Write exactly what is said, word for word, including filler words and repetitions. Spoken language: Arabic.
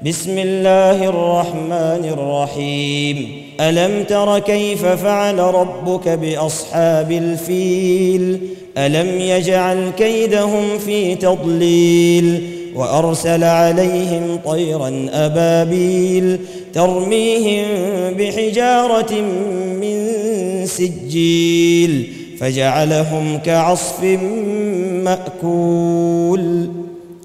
بسم الله الرحمن الرحيم ألم تر كيف فعل ربك بأصحاب الفيل ألم يجعل كيدهم في تضليل وأرسل عليهم طيرا أبابيل ترميهم بحجارة من سجيل فجعلهم كعصف مأكول.